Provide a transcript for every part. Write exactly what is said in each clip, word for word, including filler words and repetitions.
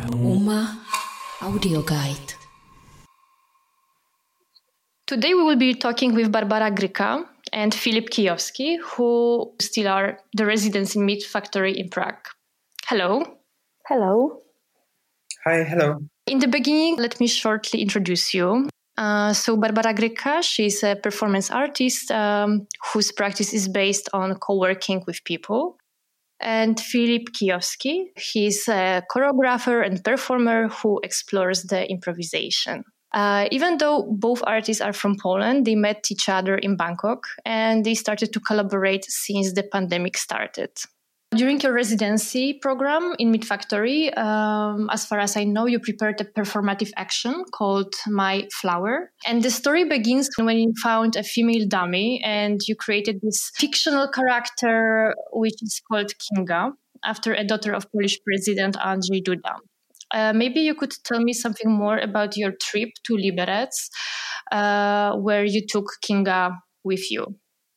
Uma Audio Guide. Today we will be talking with Barbara Gryka and Filip Kijowski, who still are the residents in Meat Factory in Prague. Hello. Hello. Hi, hello. In the beginning, let me shortly introduce you. Uh, so Barbara Gryka, she's a performance artist um, whose practice is based on co-working with people. And Filip Kijowski, he's a choreographer and performer who explores the improvisation. Uh, even though both artists are from Poland, they met each other in Bangkok and they started to collaborate since the pandemic started. During your residency program in Meat Factory, um, as far as I know, you prepared a performative action called My Flower. And the story begins when you found a female dummy and you created this fictional character, which is called Kinga, after a daughter of Polish President Andrzej Duda. Uh, maybe you could tell me something more about your trip to Liberec, uh, where you took Kinga with you.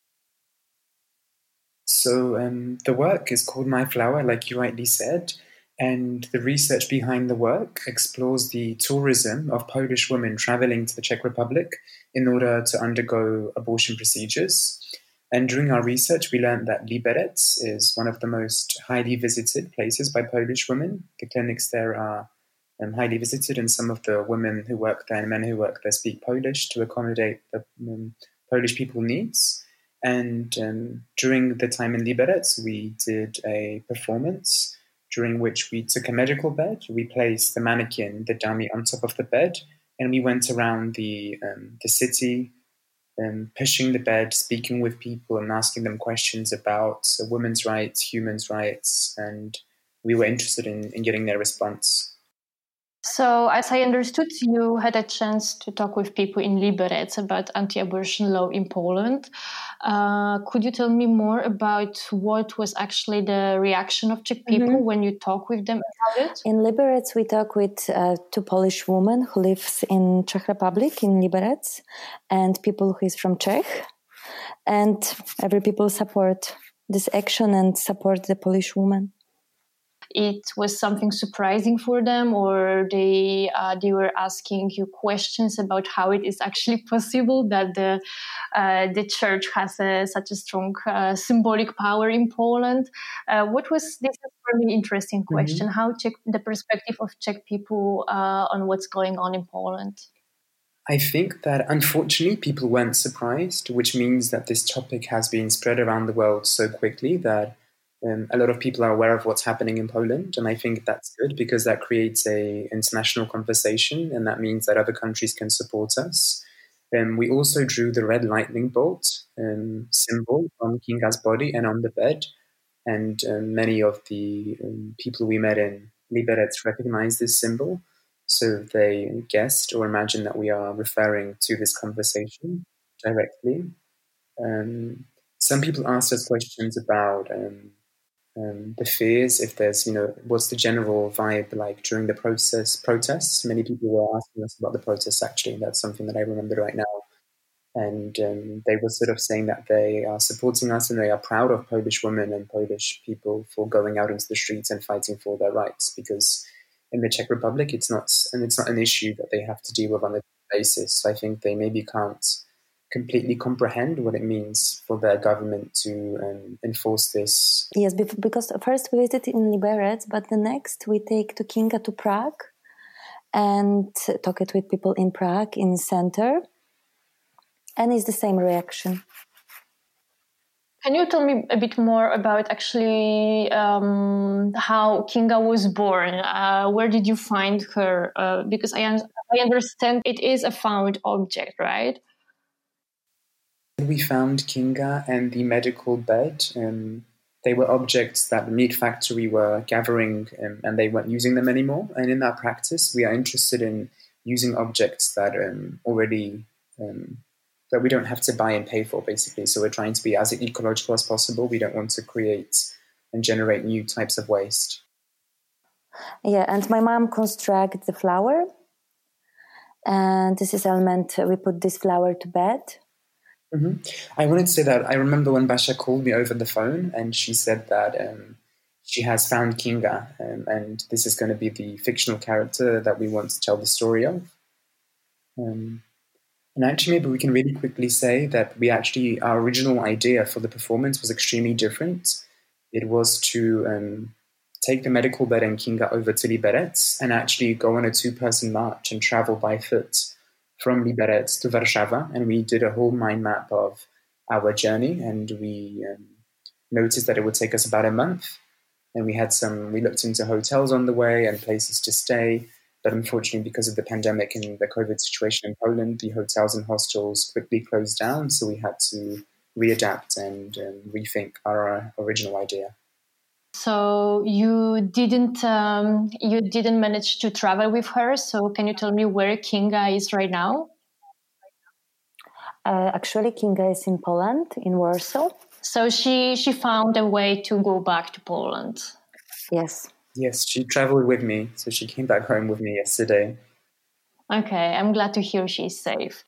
So um, the work is called My Flower, like you rightly said, and the research behind the work explores the tourism of Polish women traveling to the Czech Republic in order to undergo abortion procedures. And during our research, we learned that Liberec is one of the most highly visited places by Polish women. The clinics there are um, highly visited, and some of the women who work there and men who work there speak Polish to accommodate the um, Polish people's needs. And um, during the time in Liberec, we did a performance during which we took a medical bed, we placed the mannequin, the dummy, on top of the bed, and we went around the um, the city, um, pushing the bed, speaking with people and asking them questions about uh, women's rights, human rights, and we were interested in, in getting their response. So, as I understood, you had a chance to talk with people in Liberec about anti-abortion law in Poland. Uh, could you tell me more about what was actually the reaction of Czech people mm-hmm. when you talk with them about it? In Liberec, we talk with uh, two Polish women who lives in Czech Republic, in Liberec, and people who is from Czech. And every people support this action and support the Polish woman. It was something surprising for them, or they uh, they were asking you questions about how it is actually possible that the uh, the church has a, such a strong uh, symbolic power in Poland. Uh, what was this is a really interesting question? Mm-hmm. How Czech, the perspective of Czech people uh, on what's going on in Poland? I think that unfortunately people weren't surprised, which means that this topic has been spread around the world so quickly that Um, a lot of people are aware of what's happening in Poland, and I think that's good because that creates a international conversation, and that means that other countries can support us. Um, we also drew the red lightning bolt um, symbol on Kinga's body and on the bed, and um, many of the um, people we met in Liberec recognized this symbol, so they guessed or imagined that we are referring to this conversation directly. Um, some people asked us questions about um, Um, the fears, if there's, you know, what's the general vibe like during the process protests? Many people were asking us about the protests, actually, and that's something that I remember right now. And um, they were sort of saying that they are supporting us and they are proud of Polish women and Polish people for going out into the streets and fighting for their rights, because in the Czech Republic, it's not, and it's not an issue that they have to deal with on a daily basis. So I think they maybe can't completely comprehend what it means for their government to um, enforce this. Yes, because first we visited in Liberec, but the next we take to Kinga to Prague and talk it with people in Prague, in the center, and it's the same reaction. Can you tell me a bit more about actually um, how Kinga was born? Uh, where did you find her? Uh, because I, un- I understand it is a found object, right? We found Kinga and the medical bed. Um, they were objects that the Meat Factory were gathering um, and they weren't using them anymore. And in that practice, we are interested in using objects that um, already, um, that we don't have to buy and pay for, basically. So we're trying to be as ecological as possible. We don't want to create and generate new types of waste. Yeah, and my mom constructed the flower. And this is element, we put this flower to bed. Mm-hmm. I wanted to say that I remember when Basha called me over the phone and she said that um, she has found Kinga, um, and this is going to be the fictional character that we want to tell the story of. Um, and actually, maybe we can really quickly say that we actually, our original idea for the performance was extremely different. It was to um, take the medical bed and Kinga over to Liberec and actually go on a two-person march and travel by foot from Liberec to Warszawa. And we did a whole mind map of our journey, and we um, noticed that it would take us about a month. And we had some, we looked into hotels on the way and places to stay. But unfortunately, because of the pandemic and the COVID situation in Poland, the hotels and hostels quickly closed down. So we had to readapt and um, rethink our original idea. So you didn't um, you didn't manage to travel with her. So can you tell me where Kinga is right now? Uh, actually, Kinga is in Poland, in Warsaw. So she she found a way to go back to Poland. Yes. Yes, she traveled with me. So she came back home with me yesterday. Okay, I'm glad to hear she's safe.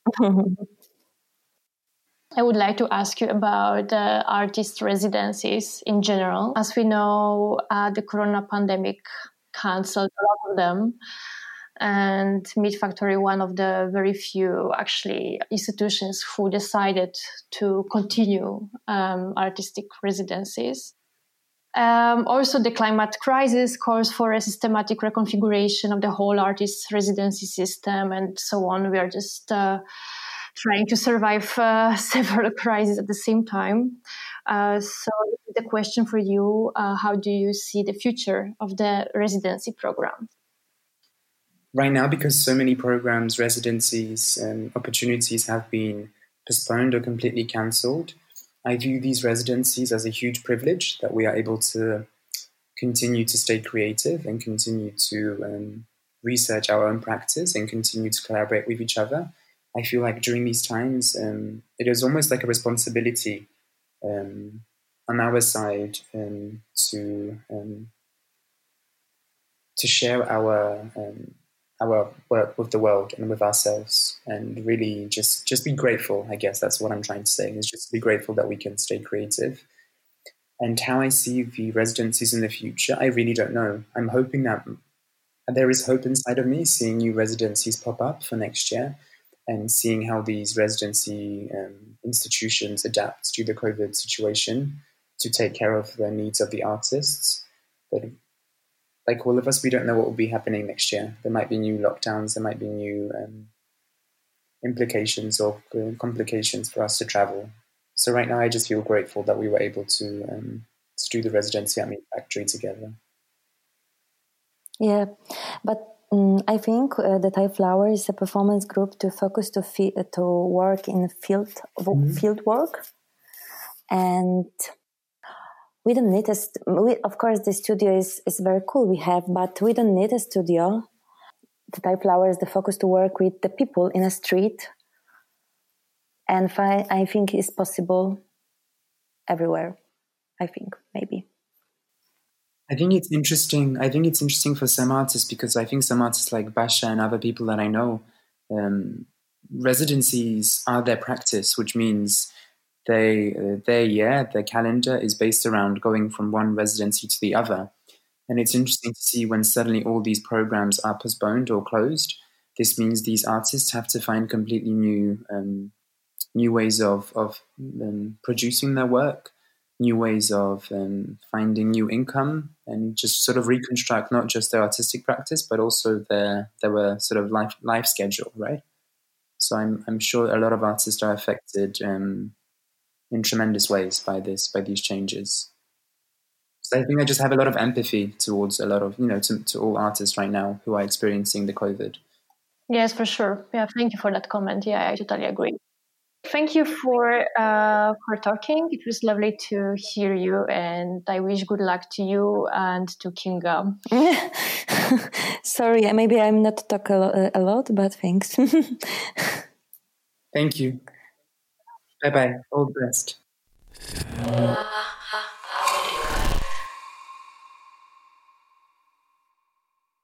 I would like to ask you about uh, artist residencies in general. As we know, uh, the corona pandemic canceled a lot of them. And Meat Factory, one of the very few actually institutions who decided to continue um, artistic residencies. Um, also, the climate crisis calls for a systematic reconfiguration of the whole artist residency system and so on. We are just uh, trying to survive uh, several crises at the same time. Uh, so the question for you, uh, how do you see the future of the residency program? Right now, because so many programs, residencies, and opportunities have been postponed or completely cancelled, I view these residencies as a huge privilege that we are able to continue to stay creative and continue to um, research our own practice and continue to collaborate with each other. I feel like during these times, um, it is almost like a responsibility um, on our side um, to um, to share our um, our work with the world and with ourselves, and really just just be grateful. I guess that's what I'm trying to say, is just be grateful that we can stay creative. And how I see the residencies in the future, I really don't know. I'm hoping that there is hope inside of me, seeing new residencies pop up for next year and seeing how these residency um, institutions adapt to the COVID situation to take care of the needs of the artists. But like all of us, we don't know what will be happening next year. There might be new lockdowns, there might be new um, implications or uh, complications for us to travel. So right now, I just feel grateful that we were able to, um, to do the residency at Meat Factory together. Yeah, but um, I think uh, the Thai Flower is a performance group to focus to fi- to work in field mm-hmm. field work, and we don't need a. St- we, of course, the studio is is very cool. We have, but we don't need a studio. The Thai Flower is the focus to work with the people in a street, and fi- I think it's possible everywhere. I think maybe. I think it's interesting. I think it's interesting for some artists because I think some artists like Basha and other people that I know, um, residencies are their practice, which means they, uh, their year, their calendar is based around going from one residency to the other. And it's interesting to see when suddenly all these programs are postponed or closed. This means these artists have to find completely new, um, new ways of of um, producing their work. New ways of um, finding new income and just sort of reconstruct not just their artistic practice, but also their their sort of life life schedule, right? So I'm I'm sure a lot of artists are affected um, in tremendous ways by this by these changes. So I think I just have a lot of empathy towards a lot of you know to, to all artists right now who are experiencing the COVID. Yes, for sure. Yeah, thank you for that comment. Yeah, I totally agree. Thank you for uh, for talking. It was lovely to hear you, and I wish good luck to you and to Kinga. Sorry, maybe I'm not talk a, lo- a lot, but thanks. Thank you. Bye bye. All the best.